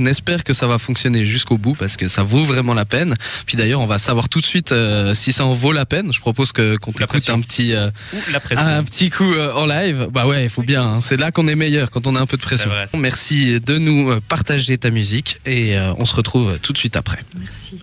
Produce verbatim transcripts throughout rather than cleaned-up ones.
On espère que ça va fonctionner jusqu'au bout parce que ça vaut vraiment la peine. Puis d'ailleurs, on va savoir tout de suite euh, si ça en vaut la peine. Je propose que qu'on t'écoute un petit euh, un petit coup euh, en live. Bah ouais, il faut bien. Hein. C'est là qu'on est meilleur quand on a un peu de pression. Vrai, Merci de nous partager ta musique et euh, on se retrouve tout de suite après. Merci.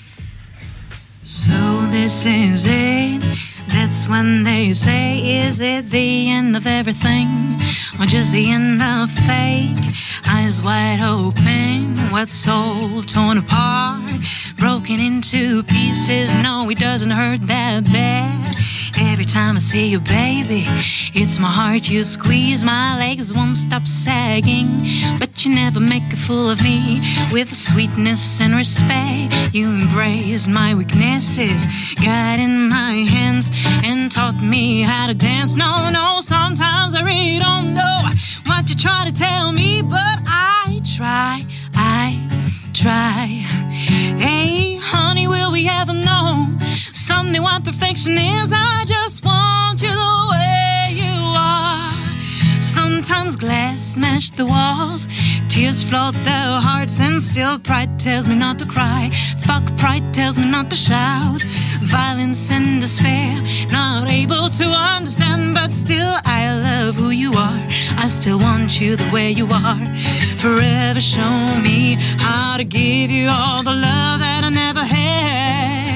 So this is it. That's when they say, is it the end of everything? Or just the end of fake? Eyes wide open, what's soul torn apart? Broken into pieces, no, it doesn't hurt that bad. Every time I see you, baby, it's my heart you squeeze. My legs won't stop sagging, but you never make a fool of me. With sweetness and respect, you embraced my weaknesses, got in my hands and taught me how to dance. No, no, sometimes I really don't know what you try to tell me, but I try, I try. Hey, honey, will we ever know someday what perfection is? I just want you the way you are. Sometimes glass smash the walls, tears flood their hearts, and still pride tells me not to cry. Fuck, pride tells me not to shout. Violence and despair, not able to understand, but still I love who you are. I still want you the way you are. Forever show me how to give you all the love that I never had.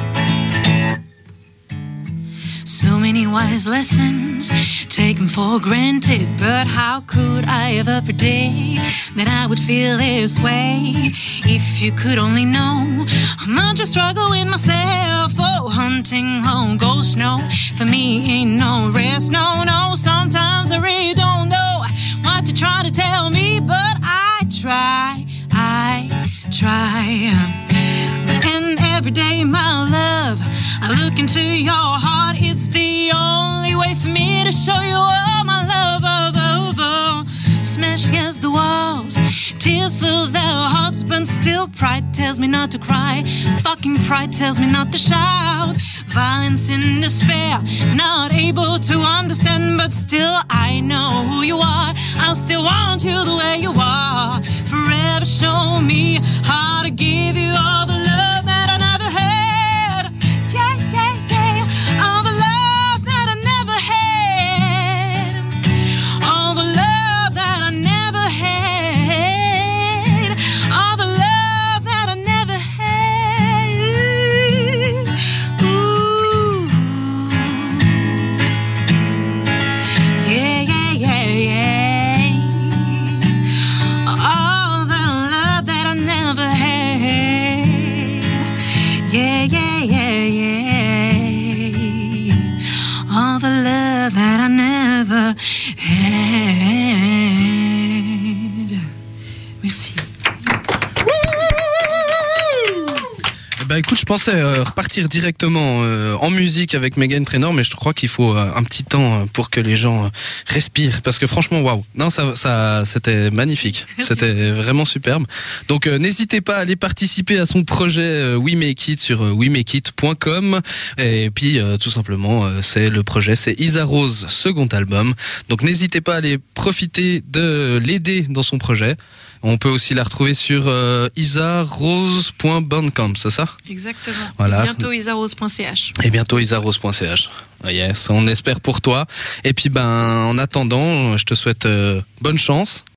So many wise lessons taken for granted, but how could I ever predict that I would feel this way? If you could only know how much I struggle with myself. Oh, hunting, oh, ghost, no, for me ain't no rest. No, no, sometimes I really don't know what to try to tell me, but I try, I try. And every day, my love, I look into your heart. It's the only way for me to show you all my love. Oh, oh, oh. Smash against the walls, tears fill their hearts, but still pride tells me not to cry. Fucking pride tells me not to shout. Violence and despair, not able to understand, but still I know who you are. I'll still want you the way you are. Forever show me how to give you all the love that I never had. Yeah, yeah, yeah. All the love that I never had. All the love that I never had. All the love that I never had. Ooh. Yeah, yeah, yeah, yeah. All the love that I never had. Yeah, yeah, yeah, yeah. All the love that I never had. Merci. Bah écoute, je pensais euh, repartir directement euh, en musique avec Meghan Trainor, mais je crois qu'il faut euh, un petit temps pour que les gens euh, respirent, parce que franchement, waouh, non, ça, ça, c'était magnifique, Merci. C'était vraiment superbe. Donc euh, n'hésitez pas à aller participer à son projet euh, We Make It sur euh, we make it point com, et puis euh, tout simplement, euh, c'est le projet, c'est Isa Rose, second album. Donc n'hésitez pas à aller profiter de l'aider dans son projet. On peut aussi la retrouver sur euh, isa rose point bandcamp, c'est ça? Exactement. Voilà. Bientôt isarose point c h. Et bientôt isa rose point c h. Yes, on espère pour toi. Et puis ben en attendant, je te souhaite euh, bonne chance